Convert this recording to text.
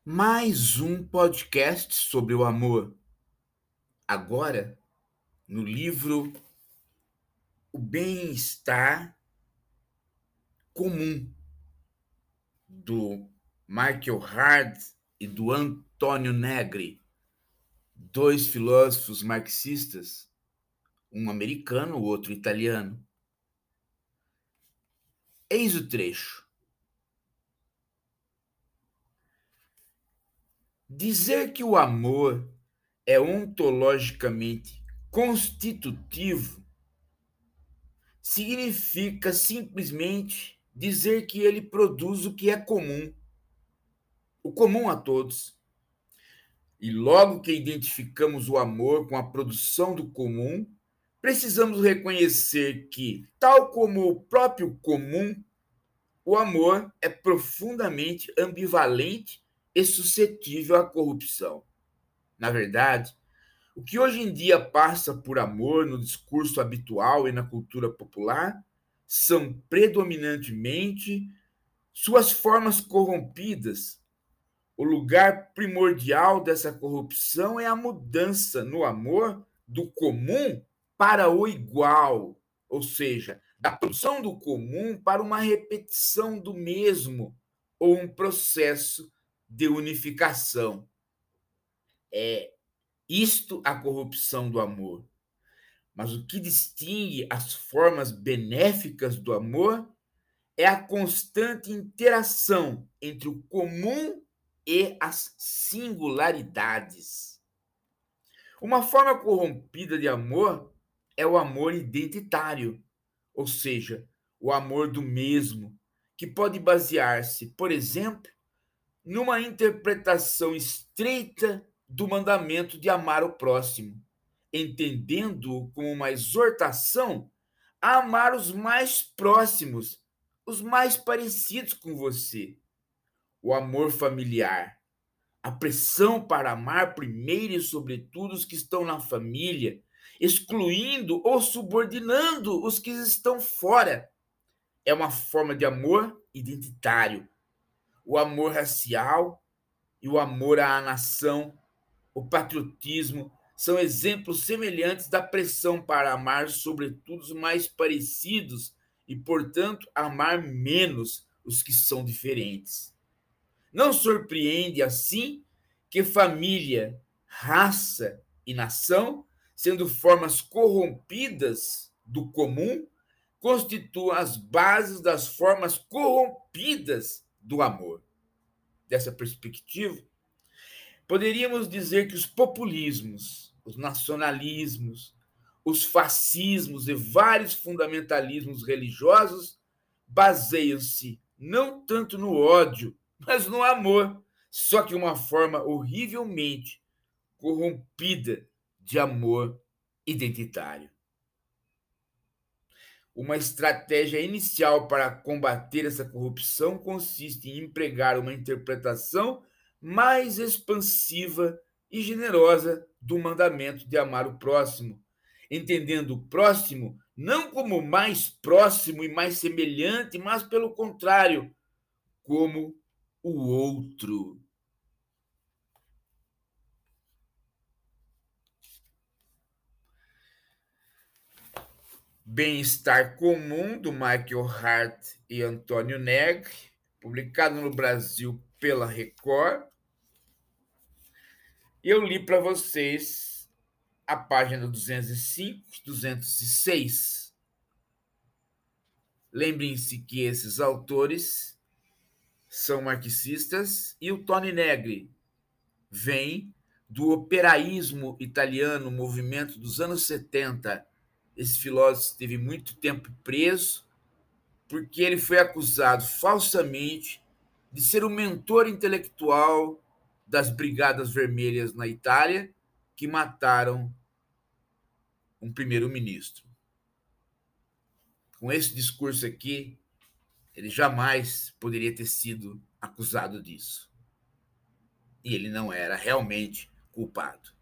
Mais um podcast sobre o amor. Agora, no livro O Bem-Estar Comum, do Michael Hart e do Antônio Negri, dois filósofos marxistas, um americano, o outro italiano. Eis o trecho. Dizer que o amor é ontologicamente constitutivo significa simplesmente dizer que ele produz o que é comum, o comum a todos. E logo que identificamos o amor com a produção do comum, precisamos reconhecer que, tal como o próprio comum, o amor é profundamente ambivalente e suscetível à corrupção. Na verdade, o que hoje em dia passa por amor no discurso habitual e na cultura popular são predominantemente suas formas corrompidas. O lugar primordial dessa corrupção é a mudança no amor do comum para o igual, ou seja, da produção do comum para uma repetição do mesmo ou um processo de unificação. É isto a corrupção do amor. Mas o que distingue as formas benéficas do amor é a constante interação entre o comum e as singularidades. Uma forma corrompida de amor é o amor identitário, ou seja, o amor do mesmo, que pode basear-se, por exemplo, numa interpretação estreita do mandamento de amar o próximo, entendendo-o como uma exortação a amar os mais próximos, os mais parecidos com você. O amor familiar, a pressão para amar primeiro e sobretudo os que estão na família, excluindo ou subordinando os que estão fora. É uma forma de amor identitário. O amor racial e o amor à nação, o patriotismo, são exemplos semelhantes da pressão para amar, sobretudo, os mais parecidos e, portanto, amar menos os que são diferentes. Não surpreende, assim, que família, raça e nação, sendo formas corrompidas do comum, constituam as bases das formas corrompidas do amor. Dessa perspectiva, poderíamos dizer que os populismos, os nacionalismos, os fascismos e vários fundamentalismos religiosos baseiam-se não tanto no ódio, mas no amor, só que uma forma horrivelmente corrompida de amor identitário. Uma estratégia inicial para combater essa corrupção consiste em empregar uma interpretação mais expansiva e generosa do mandamento de amar o próximo, entendendo o próximo não como mais próximo e mais semelhante, mas, pelo contrário, como o outro. Bem-Estar Comum, do Michael Hart e Antônio Negri, publicado no Brasil pela Record. Eu li para vocês a página 205, 206. Lembrem-se que esses autores são marxistas e o Tony Negri vem do operaísmo italiano, movimento dos anos 70. Esse filósofo esteve muito tempo preso porque ele foi acusado falsamente de ser o mentor intelectual das Brigadas Vermelhas na Itália, que mataram um primeiro-ministro. Com esse discurso aqui, ele jamais poderia ter sido acusado disso. E ele não era realmente culpado.